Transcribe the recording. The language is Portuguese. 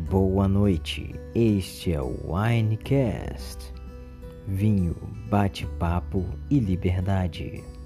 Boa noite, este é o Winecast. Vinho, bate-papo e liberdade.